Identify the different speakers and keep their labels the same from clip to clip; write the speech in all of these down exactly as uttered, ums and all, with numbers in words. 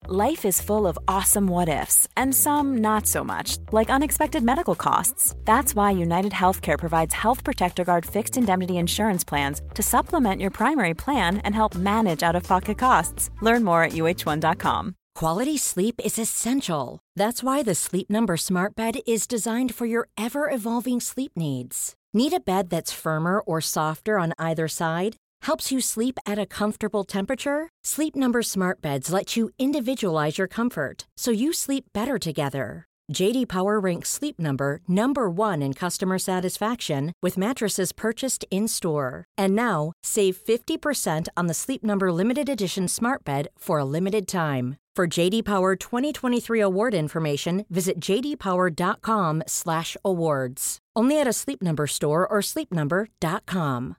Speaker 1: Life is full of awesome what-ifs, and some not so much, like unexpected medical costs. That's why United Healthcare provides Health Protector Guard fixed indemnity insurance plans to supplement your primary plan and help manage out-of-pocket costs. Learn more at U H one dot com.
Speaker 2: Quality sleep is essential. That's why the Sleep Number Smart Bed is designed for your ever-evolving sleep needs. Need a bed that's firmer or softer on either side? Helps you sleep at a comfortable temperature? Sleep Number Smart Beds let you individualize your comfort, so you sleep better together. J D Power ranks Sleep Number number one in customer satisfaction with mattresses purchased in-store. And now, save fifty percent on the Sleep Number Limited Edition Smart Bed for a limited time. For J D Power twenty twenty-three award information, visit j d power dot com slash awards. Only at a Sleep Number store or sleep number dot com.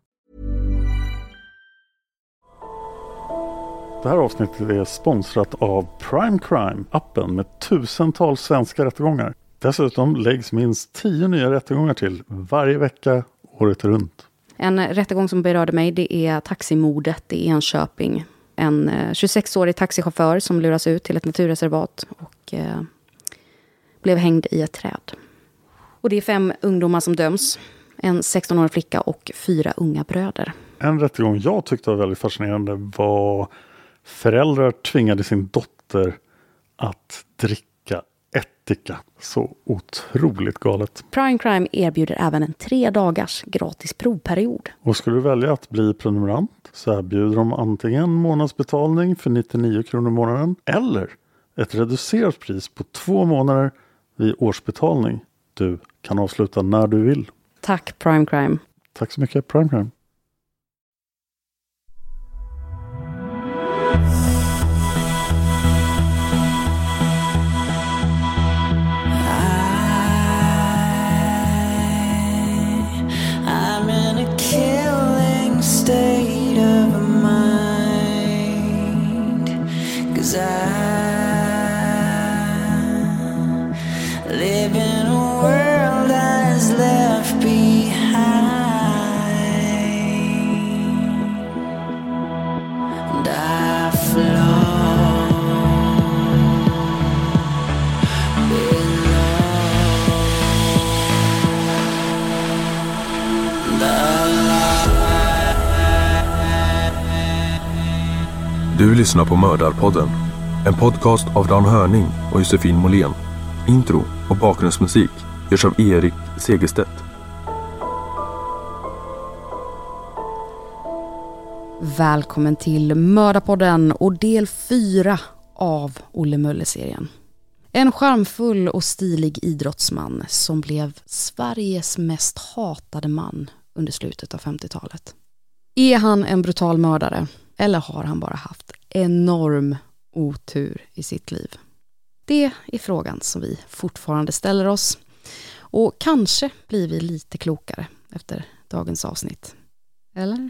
Speaker 3: Det här avsnittet är sponsrat av Prime Crime, appen med tusentals svenska rättegångar. Dessutom läggs minst tio nya rättegångar till varje vecka, året runt.
Speaker 4: En rättegång som berörde mig, det är taximordet i Enköping. En tjugosex-årig taxichaufför som luras ut till ett naturreservat och eh, blev hängd i ett träd. Och det är fem ungdomar som döms. En sexton-årig flicka och fyra unga bröder.
Speaker 3: En rättegång jag tyckte var väldigt fascinerande var föräldrar tvingade sin dotter att dricka ättika. Så otroligt galet.
Speaker 4: Prime Crime erbjuder även en tre dagars gratis provperiod.
Speaker 3: Och skulle du välja att bli prenumerant så erbjuder de antingen månadsbetalning för nittionio kronor i månaden eller ett reducerat pris på två månader vid årsbetalning. Du kan avsluta när du vill.
Speaker 4: Tack Prime Crime.
Speaker 3: Tack så mycket Prime Crime.
Speaker 5: State of mind, 'cause I live in a world that is left behind, and I flow below the
Speaker 6: Du lyssnar på Mördarpodden, en podcast av Dan Hörning och Josefin Måhlén. Intro och bakgrundsmusik görs av Erik Segerstedt.
Speaker 4: Välkommen till Mördarpodden och del fyra av Olle Möller-serien. En charmfull och stilig idrottsman som blev Sveriges mest hatade man under slutet av femtiotalet. Är han en brutal mördare? Eller har han bara haft enorm otur i sitt liv? Det är frågan som vi fortfarande ställer oss. Och kanske blir vi lite klokare efter dagens avsnitt. Eller?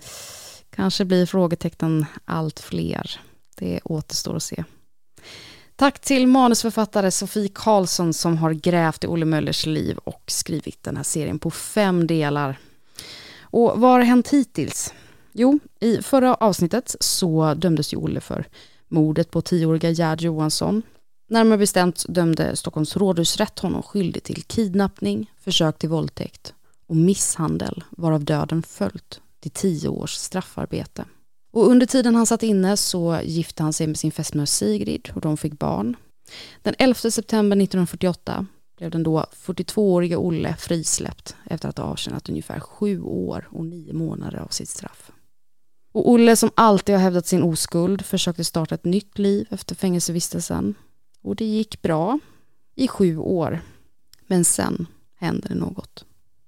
Speaker 4: Kanske blir frågetecknen allt fler. Det återstår att se. Tack till manusförfattare Sofie Karlsson som har grävt i Olle Möllers liv och skrivit den här serien på fem delar. Och vad har hänt hittills? Jo, i förra avsnittet så dömdes ju Olle för mordet på tioåriga Gerd Johansson. Närmare bestämt dömde Stockholms rådhusrätt honom skyldig till kidnappning, försök till våldtäkt och misshandel, varav döden följt till tio års straffarbete. Och under tiden han satt inne så gifte han sig med sin fästmö Sigrid och de fick barn. Den elfte september nittonhundrafyrtioåtta blev den då fyrtiotvååriga Olle frisläppt efter att ha avtjänat ungefär sju år och nio månader av sitt straff. Och Olle som alltid har hävdat sin oskuld försökte starta ett nytt liv efter fängelsevistelsen. Och det gick bra i sju år. Men sen hände det något.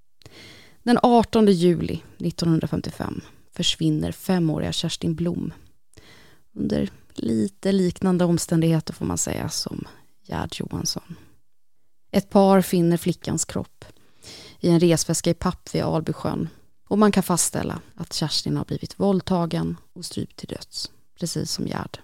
Speaker 4: Den artonde juli nittonhundrafemtiofem försvinner femåriga Kerstin Blom. Under lite liknande omständigheter får man säga som Gerd Johansson. Ett par finner flickans kropp i en resväska i papp vid Albysjön. Och man kan fastställa att Kerstin har blivit våldtagen och strypt till döds, precis som Gerd.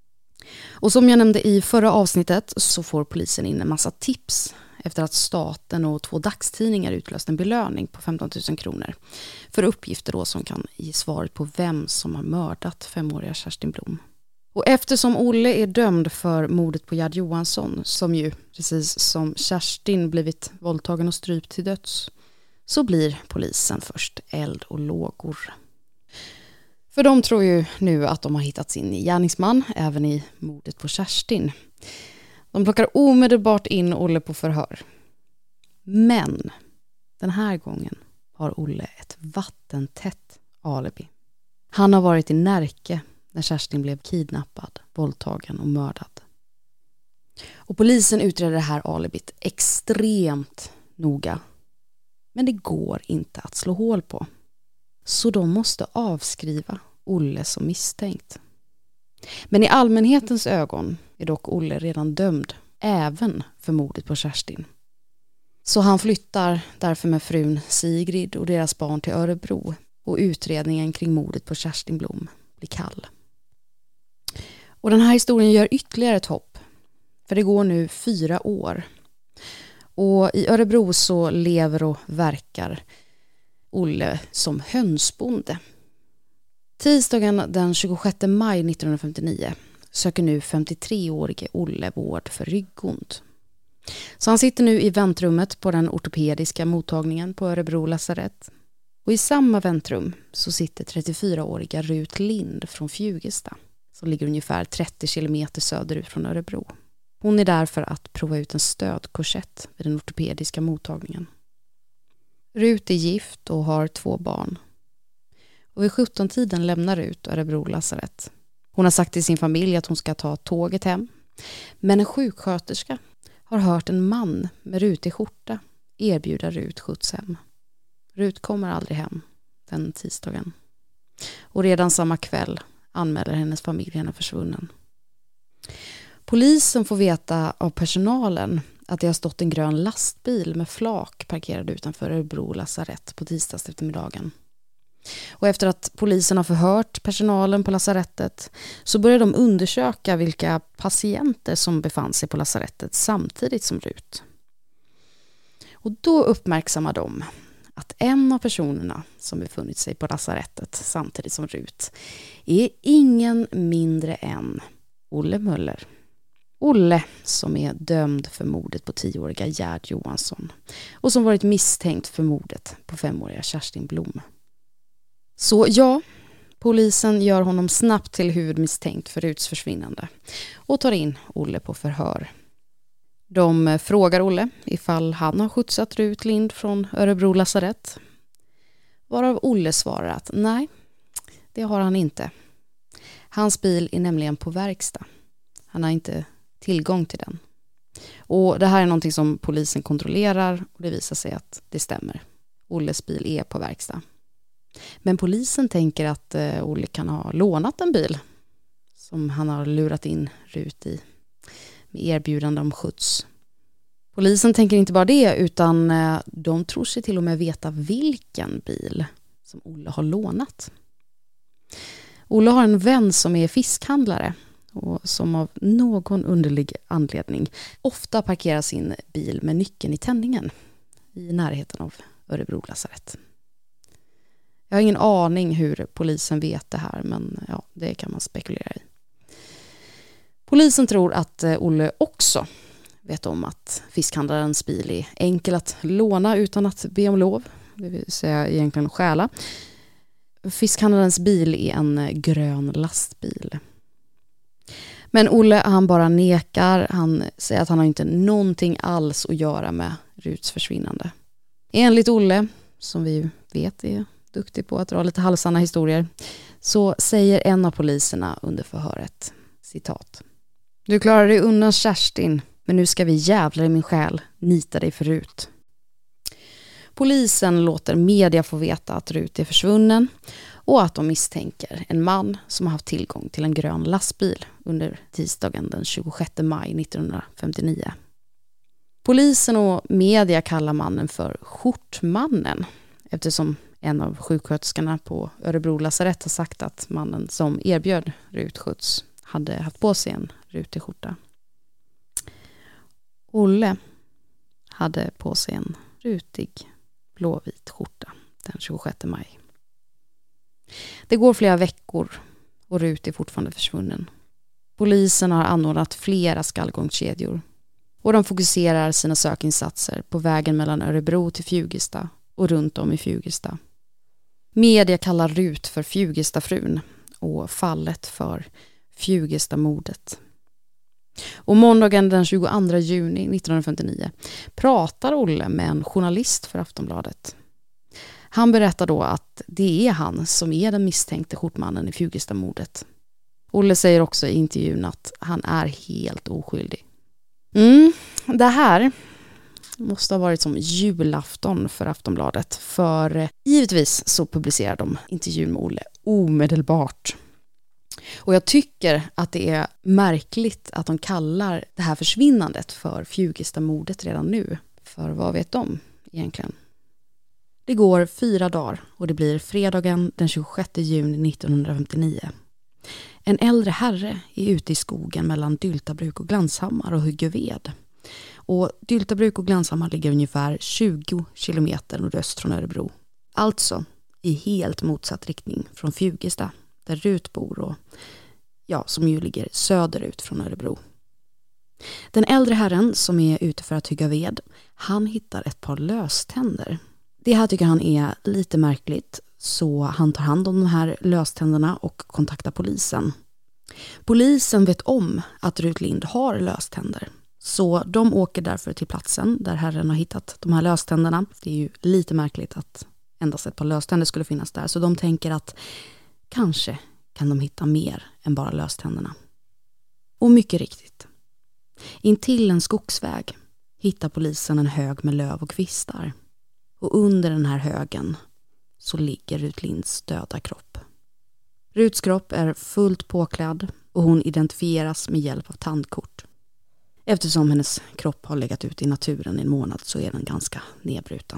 Speaker 4: Och som jag nämnde i förra avsnittet så får polisen in en massa tips efter att staten och två dagstidningar utlöst en belöning på femton tusen kronor för uppgifter då som kan ge svaret på vem som har mördat femåriga Kerstin Blom. Och eftersom Olle är dömd för mordet på Gerd Johansson, som ju precis som Kerstin blivit våldtagen och strypt till döds, så blir polisen först eld och lågor. För de tror ju nu att de har hittat sin gärningsman även i mordet på Kerstin. De plockar omedelbart in Olle på förhör. Men den här gången har Olle ett vattentätt alibi. Han har varit i Närke när Kerstin blev kidnappad, våldtagen och mördad. Och polisen utreder det här alibit extremt noga. Men det går inte att slå hål på. Så de måste avskriva Olle som misstänkt. Men i allmänhetens ögon är dock Olle redan dömd, även för mordet på Kerstin. Så han flyttar därför med frun Sigrid och deras barn till Örebro, och utredningen kring mordet på Kerstin Blom blir kall. Och den här historien gör ytterligare ett hopp, för det går nu fyra år. Och i Örebro så lever och verkar Olle som hönsbonde. Tisdagen den tjugosjätte maj nittonhundrafemtionio söker nu femtiotre-årige Olle vård för ryggont. Så han sitter nu i väntrummet på den ortopediska mottagningen på Örebro lasarett. Och i samma väntrum så sitter trettiofyraåriga Rut Lind från Fjugesta, som ligger ungefär trettio kilometer söderut från Örebro. Hon är där för att prova ut en stödkorsett vid den ortopediska mottagningen. Rut är gift och har två barn. Och vid sjutton-tiden lämnar Rut Örebro lasarett. Hon har sagt till sin familj att hon ska ta tåget hem. Men en sjuksköterska har hört en man med rutig skjorta erbjuda Rut skjuts hem. Rut kommer aldrig hem den tisdagen. Och redan samma kväll anmäler hennes familj henne försvunnen. Polisen får veta av personalen att det har stått en grön lastbil med flak parkerad utanför Örebro lasarett på tisdags eftermiddagen. Och efter att polisen har förhört personalen på lasarettet så börjar de undersöka vilka patienter som befann sig på lasarettet samtidigt som Rut. Och då uppmärksammar de att en av personerna som befunnit sig på lasarettet samtidigt som Rut är ingen mindre än Olle Möller. Olle som är dömd för mordet på tioåriga Gerd Johansson och som varit misstänkt för mordet på femåriga Kerstin Blom. Så ja, polisen gör honom snabbt till huvudmisstänkt för Ruts försvinnande och tar in Olle på förhör. De frågar Olle ifall han har skjutsat Rut Lind från Örebro lasarett. Varav Olle svarar att nej, det har han inte. Hans bil är nämligen på verkstad. Han har inte tillgång till den. Och det här är någonting som polisen kontrollerar och det visar sig att det stämmer. Olles bil är på verkstad. Men polisen tänker att eh, Olle kan ha lånat en bil som han har lurat in Rut i med erbjudande om skjuts. Polisen tänker inte bara det utan eh, de tror sig till och med veta vilken bil som Olle har lånat. Olle har en vän som är fiskhandlare och som av någon underlig anledning ofta parkerar sin bil med nyckeln i tändningen i närheten av Örebro lasarett. Jag har ingen aning hur polisen vet det här, men ja, det kan man spekulera i. Polisen tror att Olle också vet om att fiskhandlarens bil är enkel att låna utan att be om lov, det vill säga egentligen stjäla. Fiskhandlarens bil är en grön lastbil. Men Olle, han bara nekar. Han säger att han har inte någonting alls att göra med Ruts försvinnande. Enligt Olle, som vi vet är duktig på att dra lite halvsanna historier, så säger en av poliserna under förhöret, citat: "Du klarar dig undan Kerstin, men nu ska vi jävlar i min själ nita dig för Rut." Polisen låter media få veta att Rut är försvunnen och att de misstänker en man som har haft tillgång till en grön lastbil under tisdagen den tjugosjätte maj nittonhundrafemtionio. Polisen och media kallar mannen för Skjortmannen eftersom en av sjuksköterskorna på Örebro lasarett har sagt att mannen som erbjöd Rut skjuts hade haft på sig en rutig skjorta. Olle hade på sig en rutig blåvit skjorta den tjugosjätte maj. Det går flera veckor och Rut är fortfarande försvunnen. Polisen har anordnat flera skallgångskedjor och de fokuserar sina sökinsatser på vägen mellan Örebro till Fjugesta och runt om i Fjugesta. Media kallar Rut för Fjugestafrun och fallet för Fjugesta-mordet. Och måndagen den tjugoandra juni nittonhundrafemtionio pratar Olle med en journalist för Aftonbladet. Han berättar då att det är han som är den misstänkte skjortmannen i Fjugesta-mordet. Olle säger också i intervjun att han är helt oskyldig. Mm, det här måste ha varit som julafton för Aftonbladet, för givetvis så publicerar de intervjun med Olle omedelbart. Och jag tycker att det är märkligt att de kallar det här försvinnandet för Fjugesta-mordet redan nu. För vad vet de egentligen? Det går fyra dagar och det blir fredagen den tjugosjätte juni nittonhundrafemtionio. En äldre herre är ute i skogen mellan Dyltabruk och Glanshammar och hugger ved. Och Dyltabruk och Glanshammar ligger ungefär tjugo kilometer nordöst från Örebro. Alltså i helt motsatt riktning från Fjugesta, där Rut bor och ja, som ju ligger söderut från Örebro. Den äldre herren som är ute för att hugga ved, han hittar ett par löständer. Det här tycker han är lite märkligt, så han tar hand om de här löständerna och kontaktar polisen. Polisen vet om att Rut Lind har löständer, så de åker därför till platsen där herren har hittat de här löständerna. Det är ju lite märkligt att endast ett par löständer skulle finnas där, så de tänker att kanske kan de hitta mer än bara löständerna. Och mycket riktigt. Intill en skogsväg hittar polisen en hög med löv och kvistar. Och under den här högen så ligger Rut Linds döda kropp. Ruts kropp är fullt påklädd och hon identifieras med hjälp av tandkort. Eftersom hennes kropp har legat ute i naturen i en månad så är den ganska nedbruten.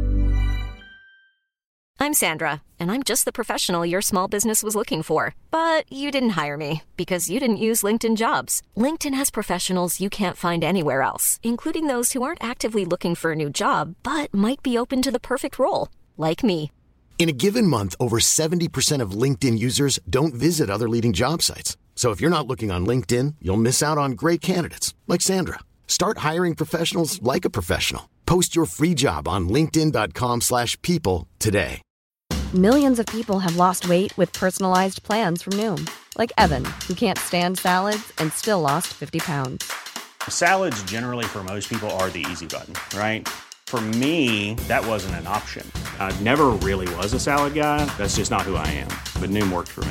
Speaker 7: I'm Sandra, and I'm just the professional your small business was looking for. But you didn't hire me because you didn't use LinkedIn Jobs. LinkedIn has professionals you can't find anywhere else, including those who aren't actively looking for a new job, but might be open to the perfect role, like me.
Speaker 8: In a given month, over seventy percent of LinkedIn users don't visit other leading job sites. So if you're not looking on LinkedIn, you'll miss out on great candidates like Sandra. Start hiring professionals like a professional. Post your free job on linkedin dot com slash people today.
Speaker 9: Millions of people have lost weight with personalized plans from Noom. Like Evan, who can't stand salads and still lost fifty pounds.
Speaker 10: Salads generally for most people are the easy button, right? For me, that wasn't an option. I never really was a salad guy. That's just not who I am. But Noom worked for me.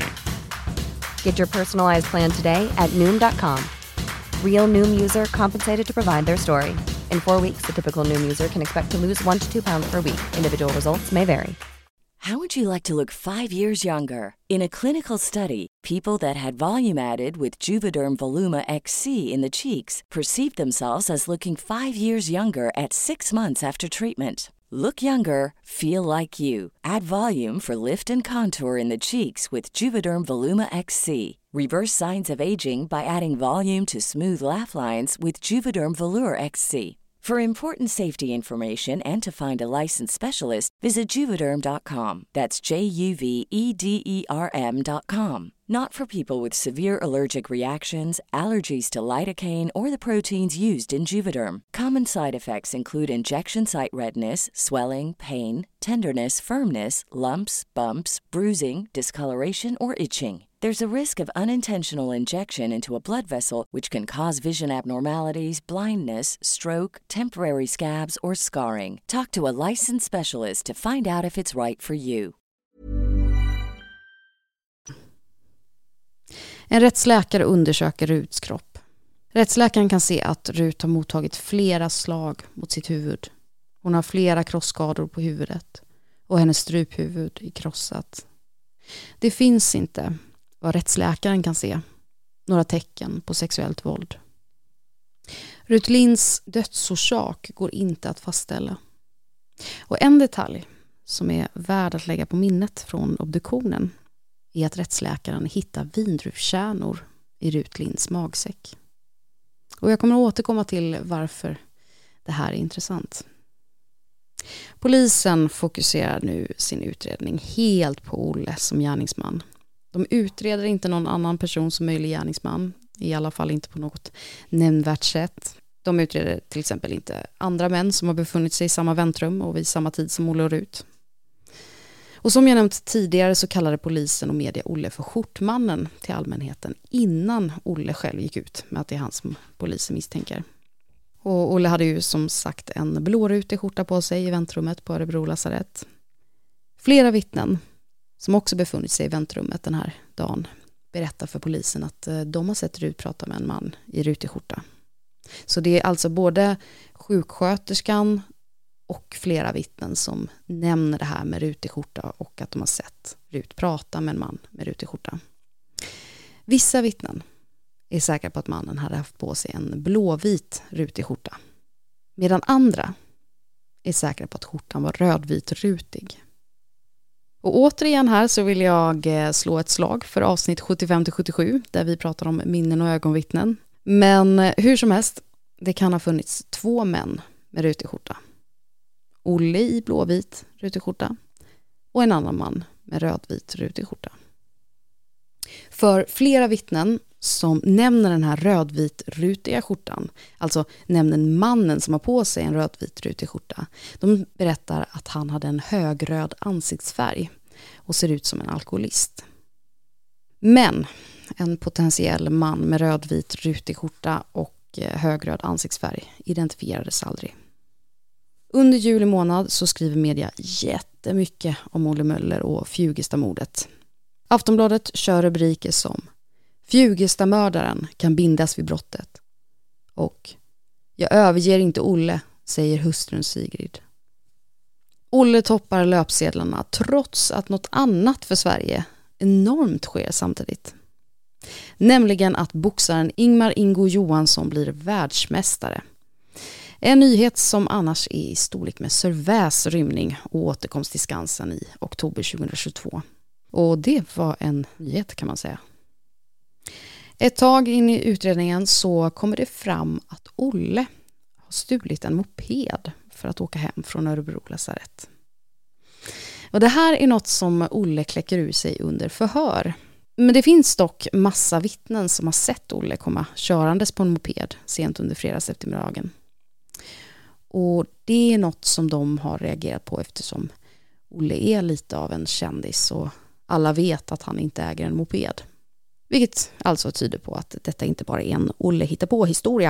Speaker 9: Get your personalized plan today at noom dot com. Real Noom user compensated to provide their story. In four weeks, the typical Noom user can expect to lose one to two pounds per week. Individual results may vary.
Speaker 11: How would you like to look five years younger? In a clinical study, people that had volume added with Juvederm Voluma X C in the cheeks perceived themselves as looking five years younger at six months after treatment. Look younger, feel like you. Add volume for lift and contour in the cheeks with Juvederm Voluma X C. Reverse signs of aging by adding volume to smooth laugh lines with Juvederm Volure X C. For important safety information and to find a licensed specialist, visit Juvederm dot com. That's J U V E D E R M dot com. Not for people with severe allergic reactions, allergies to lidocaine, or the proteins used in Juvederm. Common side effects include injection site redness, swelling, pain, tenderness, firmness, lumps, bumps, bruising, discoloration, or itching. There's a risk of unintentional injection into a blood vessel, which can cause vision abnormalities, blindness, stroke, temporary scabs, or scarring. Talk to a licensed specialist to find out if it's right for you.
Speaker 4: En rättsläkare undersöker Ruts kropp. Rättsläkaren kan se att Rut har mottagit flera slag mot sitt huvud. Hon har flera krossskador på huvudet och hennes struphuvud är krossat. Det finns inte, vad rättsläkaren kan se, några tecken på sexuellt våld. Rut Linds dödsorsak går inte att fastställa. Och en detalj som är värd att lägga på minnet från obduktionen är att rättsläkaren hittar vindruvkärnor i Rut Linds magsäck. Och jag kommer att återkomma till varför det här är intressant. Polisen fokuserar nu sin utredning helt på Olle som gärningsman. De utreder inte någon annan person som möjlig gärningsman. I alla fall inte på något nämnvärt sätt. De utreder till exempel inte andra män som har befunnit sig i samma väntrum och vid samma tid som Olle och Rut. Och som jag nämnt tidigare så kallade polisen och media Olle för skjortmannen till allmänheten innan Olle själv gick ut med att det är han som polisen misstänker. Och Olle hade ju som sagt en blårutig skjorta på sig i väntrummet på Örebro lasarett. Flera vittnen som också befunnit sig i väntrummet den här dagen berättar för polisen att de har sett Rut prata med en man i rutig skjorta. Så det är alltså både sjuksköterskan och flera vittnen som nämner det här med rutig skjorta och att de har sett Rut prata med en man med rutig skjorta. Vissa vittnen är säkra på att mannen hade haft på sig en blåvit rutig skjorta. Medan andra är säkra på att skjortan var rödvit rutig. Och återigen här så vill jag slå ett slag för avsnitt sjuttiofem till sjuttiosju där vi pratar om minnen och ögonvittnen. Men hur som helst, det kan ha funnits två män med rutig skjorta. Olle i blåvit rutig skjorta och en annan man med rödvit rutig skjorta. För flera vittnen som nämner den här rödvit rutiga skjortan, alltså nämner mannen som har på sig en rödvit rutig skjorta, de berättar att han hade en högröd ansiktsfärg och ser ut som en alkoholist. Men en potentiell man med rödvit rutig skjorta och högröd ansiktsfärg identifierades aldrig. Under juli månad så skriver media jättemycket om Olle Möller och Fjugesta-mordet. Aftonbladet kör rubriker som Fjugesta-mördaren kan bindas vid brottet. Och jag överger inte Olle, säger hustrun Sigrid. Olle toppar löpsedlarna trots att något annat för Sverige enormt sker samtidigt. Nämligen att boxaren Ingmar Ingo Johansson blir världsmästare. En nyhet som annars är i storlek med Sörväs rymning och återkomst till Skansen i oktober tjugohundratjugotvå. Och det var en nyhet kan man säga. Ett tag in i utredningen så kommer det fram att Olle har stulit en moped för att åka hem från Örebro lasarett. Och det här är något som Olle kläcker ur sig under förhör. Men det finns dock massa vittnen som har sett Olle komma körandes på en moped sent under fredags eftermiddagen. Och det är något som de har reagerat på eftersom Olle är lite av en kändis och alla vet att han inte äger en moped. Vilket alltså tyder på att detta inte bara är en Olle hittar på historia.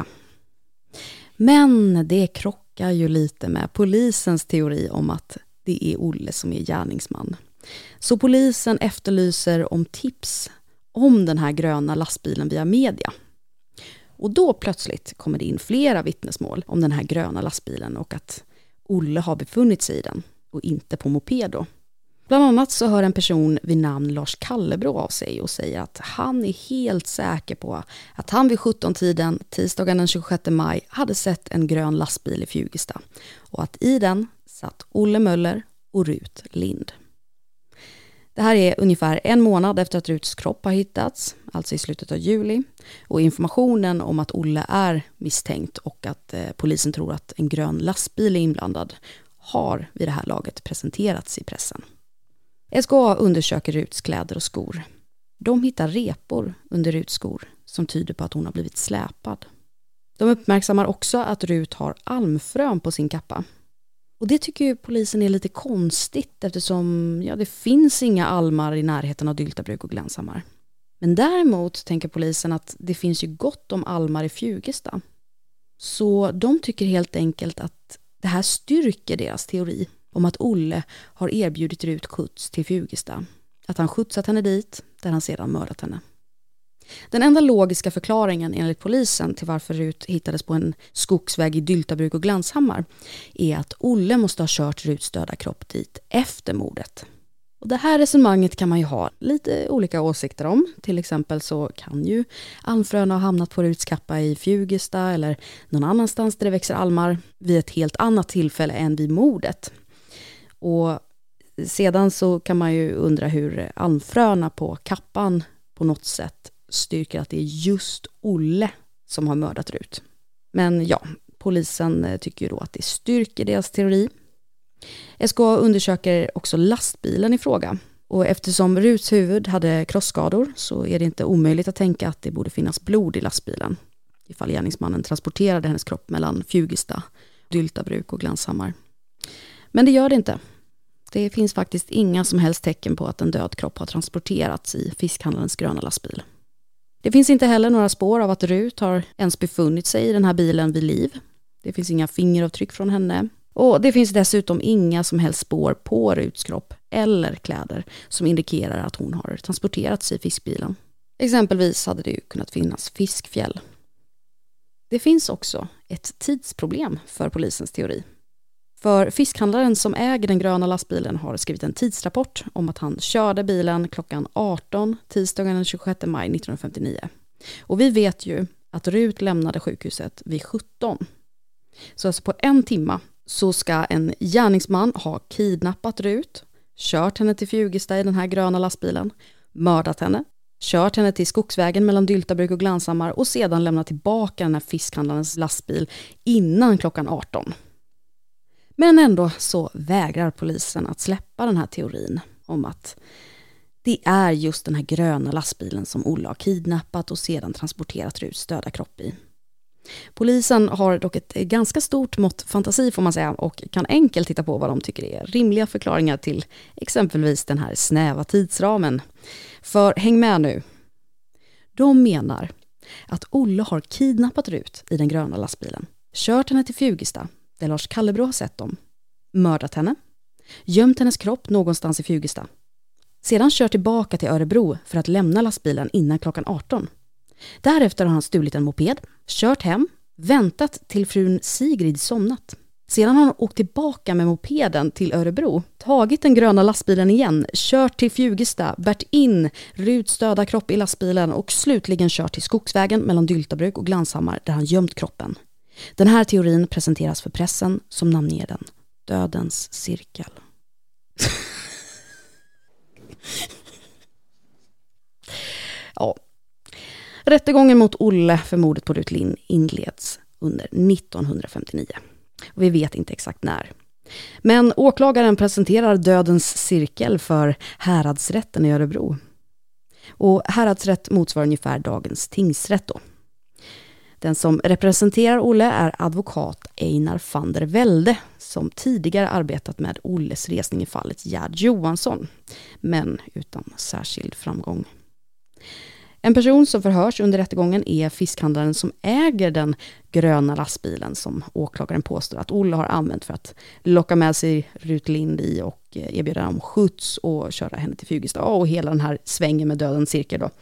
Speaker 4: Men det krockar ju lite med polisens teori om att det är Olle som är gärningsman. Så polisen efterlyser om tips om den här gröna lastbilen via media. Och då plötsligt kommer det in flera vittnesmål om den här gröna lastbilen och att Olle har befunnit sig i den och inte på moped då. Bland annat så hör en person vid namn Lars Kallebro av sig och säger att han är helt säker på att han vid sjutton-tiden tisdagen den tjugosjätte maj hade sett en grön lastbil i Fjugesta och att i den satt Olle Möller och Rut Lind. Det här är ungefär en månad efter att Ruts kropp har hittats, alltså i slutet av juli. Och informationen om att Olle är misstänkt och att eh, polisen tror att en grön lastbil är inblandad har vid det här laget presenterats i pressen. S K A undersöker Ruts kläder och skor. De hittar repor under Ruts skor som tyder på att hon har blivit släpad. De uppmärksammar också att Rut har almfrön på sin kappa. Och det tycker ju polisen är lite konstigt eftersom ja, det finns inga almar i närheten av Dyltabruk och Glanshammar. Men däremot tänker polisen att det finns ju gott om almar i Fjugesta. Så de tycker helt enkelt att det här styrker deras teori om att Olle har erbjudit Rut skjuts till Fjugesta. Att han skjutsat henne dit där han sedan mördat henne. Den enda logiska förklaringen enligt polisen till varför Rut hittades på en skogsväg i Dyltabruk och Glanshammar är att Olle måste ha kört Ruts döda kropp dit efter mordet. Och det här resonemanget kan man ju ha lite olika åsikter om. Till exempel så kan ju almfröna ha hamnat på Ruts kappa i Fjugesta eller någon annanstans där det växer almar vid ett helt annat tillfälle än vid mordet. Och sedan så kan man ju undra hur almfröna på kappan på något sätt styrker att det är just Olle som har mördat Rut. Men ja, polisen tycker ju då att det styrker deras teori. S K A undersöker också lastbilen i fråga Och eftersom Ruts huvud hade krossskador så är det inte omöjligt att tänka att det borde finnas blod i lastbilen ifall gärningsmannen transporterade hennes kropp mellan Fjugesta, Dyltabruk och Glanshammar. Men det gör det inte. Det finns faktiskt inga som helst tecken på att en död kropp har transporterats i fiskhandlarens gröna lastbil. Det finns inte heller några spår av att Rut har ens befunnit sig i den här bilen vid liv. Det finns inga fingeravtryck från henne. Och det finns dessutom inga som helst spår på Ruts kropp eller kläder som indikerar att hon har transporterats i fiskbilen. Exempelvis hade det ju kunnat finnas fiskfjäll. Det finns också ett tidsproblem för polisens teori. För fiskhandlaren som äger den gröna lastbilen har skrivit en tidsrapport om att han körde bilen klockan arton tisdagen den tjugosjätte maj nittonhundrafemtionio. Och vi vet ju att Rut lämnade sjukhuset vid sjutton. Så alltså på en timma så ska en gärningsman ha kidnappat Rut, kört henne till Fjugesta i den här gröna lastbilen, mördat henne, kört henne till skogsvägen mellan Dyltabruk och Glanshammar och sedan lämnat tillbaka den här fiskhandlarens lastbil innan klockan arton. Men ändå så vägrar polisen att släppa den här teorin om att det är just den här gröna lastbilen som Olle har kidnappat och sedan transporterat Ruts döda kropp i. Polisen har dock ett ganska stort mått fantasi får man säga och kan enkelt titta på vad de tycker är rimliga förklaringar till exempelvis den här snäva tidsramen. För häng med nu. De menar att Olle har kidnappat Rut i den gröna lastbilen, kört henne till Fjugesta där Lars Kallebro har sett dem, mördat henne, gömt hennes kropp någonstans i Fjugesta. Sedan kört tillbaka till Örebro för att lämna lastbilen innan klockan arton. Därefter har han stulit en moped, kört hem, väntat till frun Sigrid somnat. Sedan har han åkt tillbaka med mopeden till Örebro, tagit den gröna lastbilen igen, kört till Fjugesta, bärt in Ruts döda kropp i lastbilen och slutligen kört till skogsvägen mellan Dyltabruk och Glanshammar där han gömt kroppen. Den här teorin presenteras för pressen som namnger den Dödens cirkel. Ja. Rättegången mot Olle för mordet på Rut Lind inleds under nittonhundrafemtionio. Och vi vet inte exakt när. Men åklagaren presenterar Dödens cirkel för häradsrätten i Örebro. Och häradsrätt motsvarar ungefär dagens tingsrätt då. Den som representerar Olle är advokat Einar van der Velde som tidigare arbetat med Olles resning i fallet Gerd Johansson, men utan särskild framgång. En person som förhörs under rättegången är fiskhandlaren som äger den gröna lastbilen som åklagaren påstår att Olle har använt för att locka med sig Rut Lind i och erbjuda dem skjuts och köra henne till Fjugesta och hela den här svängen med Dödens cirkel då.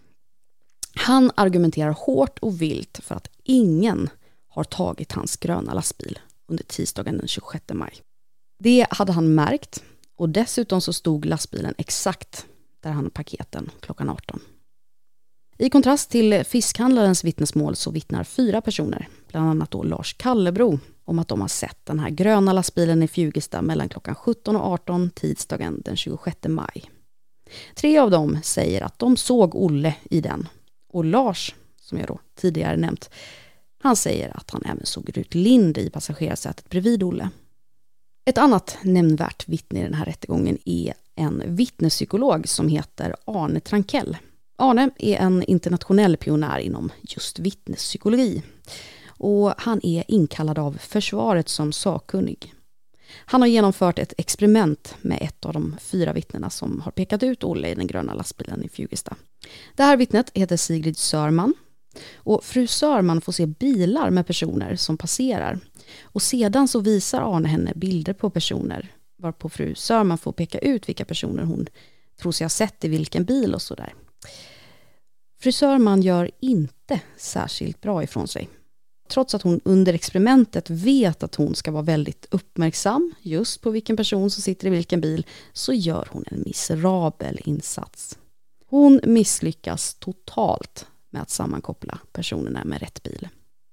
Speaker 4: Han argumenterar hårt och vilt för att ingen har tagit hans gröna lastbil under tisdagen den tjugosjätte maj. Det hade han märkt och dessutom så stod lastbilen exakt där han paketen klockan arton. I kontrast till fiskhandlarens vittnesmål så vittnar fyra personer, bland annat då Lars Kallebro, om att de har sett den här gröna lastbilen i Fjugesta mellan klockan sjutton och arton tisdagen den tjugosjätte maj. Tre av dem säger att de såg Olle i den. Och Lars, som jag då tidigare nämnt, han säger att han även såg Rut Lind i passagerarsätet bredvid Olle. Ett annat nämnvärt vittne i den här rättegången är en vittnespsykolog som heter Arne Trankell. Arne är en internationell pionjär inom just vittnespsykologi och han är inkallad av försvaret som sakkunnig. Han har genomfört ett experiment med ett av de fyra vittnena som har pekat ut Olle i den gröna lastbilen i Fjugesta. Det här vittnet heter Sigrid Sörman och fru Sörman får se bilar med personer som passerar. Och sedan så visar Arne henne bilder på personer varpå fru Sörman får peka ut vilka personer hon tror sig ha sett i vilken bil och sådär. Fru Sörman gör inte särskilt bra ifrån sig. Trots att hon under experimentet vet att hon ska vara väldigt uppmärksam just på vilken person som sitter i vilken bil så gör hon en miserabel insats. Hon misslyckas totalt med att sammankoppla personerna med rätt bil.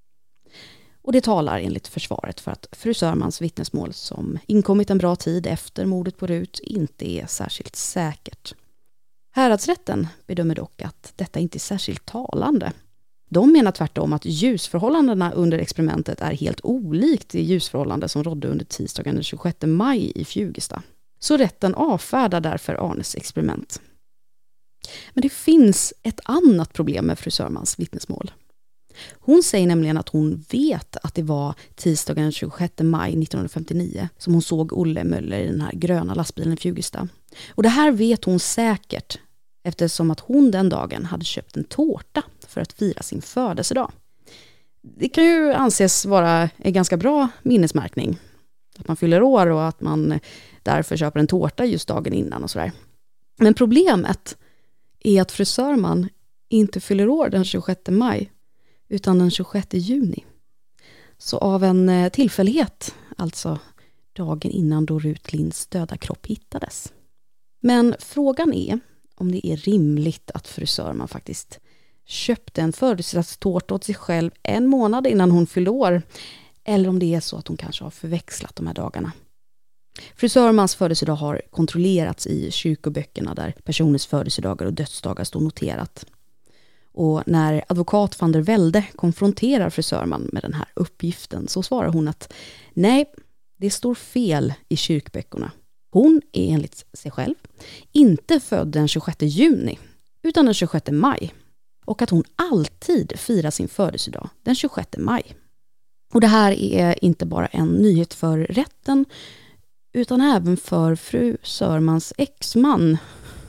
Speaker 4: Och det talar enligt försvaret för att fru Sörmans vittnesmål som inkommit en bra tid efter mordet på Rut inte är särskilt säkert. Häradsrätten bedömer dock att detta inte är särskilt talande. De menar tvärtom att ljusförhållandena under experimentet är helt olikt det ljusförhållande som rådde under tisdagen den tjugosjätte maj i Fjugesta. Så rätten avfärdar därför Arnes experiment. Men det finns ett annat problem med fru Sörmans vittnesmål. Hon säger nämligen att hon vet att det var tisdagen den tjugosjätte maj nittonhundrafemtionio som hon såg Olle Möller i den här gröna lastbilen i Fjugesta. Och det här vet hon säkert eftersom att hon den dagen hade köpt en tårta för att fira sin födelsedag. Det kan ju anses vara en ganska bra minnesmärkning. Att man fyller år och att man därför köper en tårta just dagen innan och sådär. Men problemet är att fru Sörman inte fyller år den tjugosjätte maj utan den tjugosjätte juni. Så av en tillfällighet, alltså dagen innan då Rut Linds döda kropp hittades. Men frågan är om det är rimligt att fru Sörman faktiskt köpte en födelsedagstårta åt sig själv en månad innan hon fyllde år. Eller om det är så att hon kanske har förväxlat de här dagarna. Fru Sörmans födelsedag har kontrollerats i kyrkoböckerna där personers födelsedagar och dödsdagar står noterat. Och när advokat van der Velde konfronterar fru Sörman med den här uppgiften så svarar hon att nej, det står fel i kyrkböckerna. Hon är enligt sig själv inte född den tjugosjätte juni utan den tjugosjätte maj. Och att hon alltid firar sin födelsedag den tjugosjätte maj. Och det här är inte bara en nyhet för rätten utan även för fru Sörmans exman.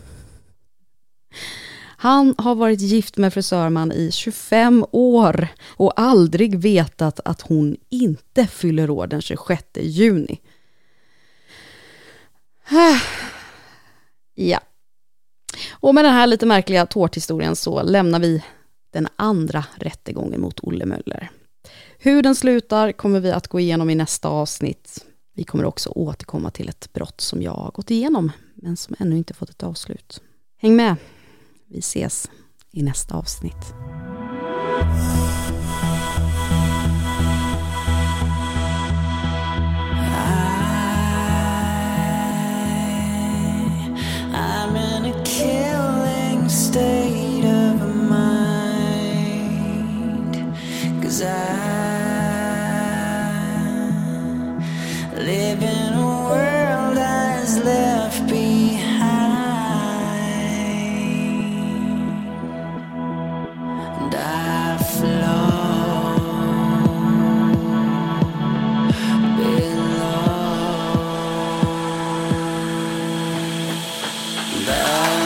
Speaker 4: Han har varit gift med fru Sörman i tjugofem år och aldrig vetat att hon inte fyller år den tjugosjätte juni. Ja. Och med den här lite märkliga tårthistorien så lämnar vi den andra rättegången mot Olle Möller. Hur den slutar kommer vi att gå igenom i nästa avsnitt. Vi kommer också återkomma till ett brott som jag har gått igenom men som ännu inte fått ett avslut. Häng med! Vi ses i nästa avsnitt.
Speaker 5: I'm in a killing state of mind, 'cause I live in a world that's left behind, and I flow below the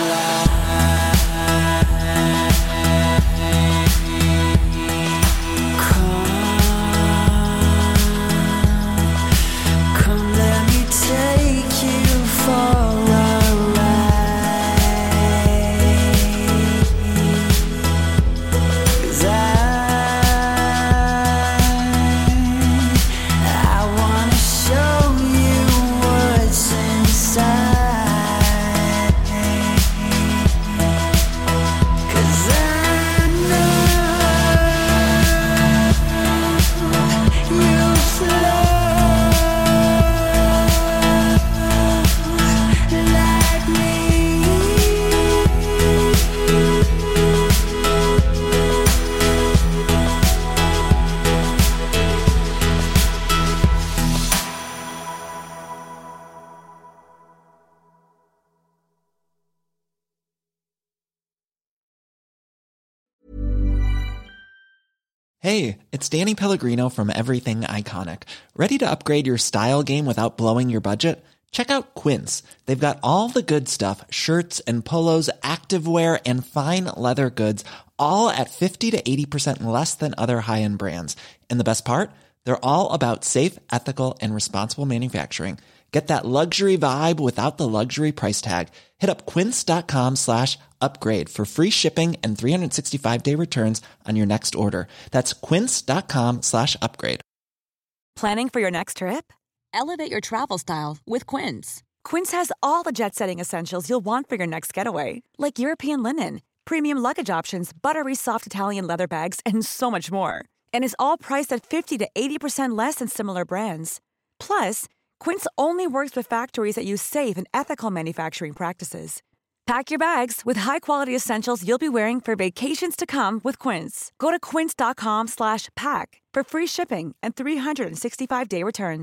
Speaker 12: Hey, it's Danny Pellegrino from Everything Iconic. Ready to upgrade your style game without blowing your budget? Check out Quince. They've got all the good stuff, shirts and polos, activewear and fine leather goods, all at fifty to eighty percent less than other high-end brands. And the best part? They're all about safe, ethical and responsible manufacturing. Get that luxury vibe without the luxury price tag. Hit up quince.com slash upgrade for free shipping and three sixty-five day returns on your next order. That's quince.com slash upgrade.
Speaker 13: Planning for your next trip? Elevate your travel style with Quince. Quince has all the jet-setting essentials you'll want for your next getaway, like European linen, premium luggage options, buttery soft Italian leather bags, and so much more. And is all priced at fifty to eighty percent less than similar brands. Plus, Quince only works with factories that use safe and ethical manufacturing practices. Pack your bags with high-quality essentials you'll be wearing for vacations to come with Quince. Go to quince.com slash pack for free shipping and three sixty-five day returns.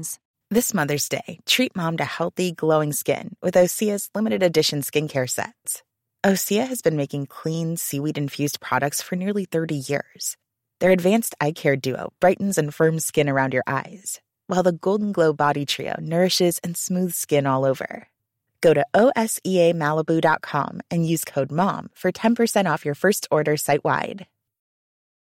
Speaker 14: This Mother's Day, treat mom to healthy, glowing skin with Osea's limited edition skincare sets. Osea has been making clean, seaweed-infused products for nearly thirty years. Their advanced eye care duo brightens and firms skin around your eyes, while the Golden Glow Body Trio nourishes and smooths skin all over. Go to O S E A Malibu dot com and use code MOM for ten percent off your first order site-wide.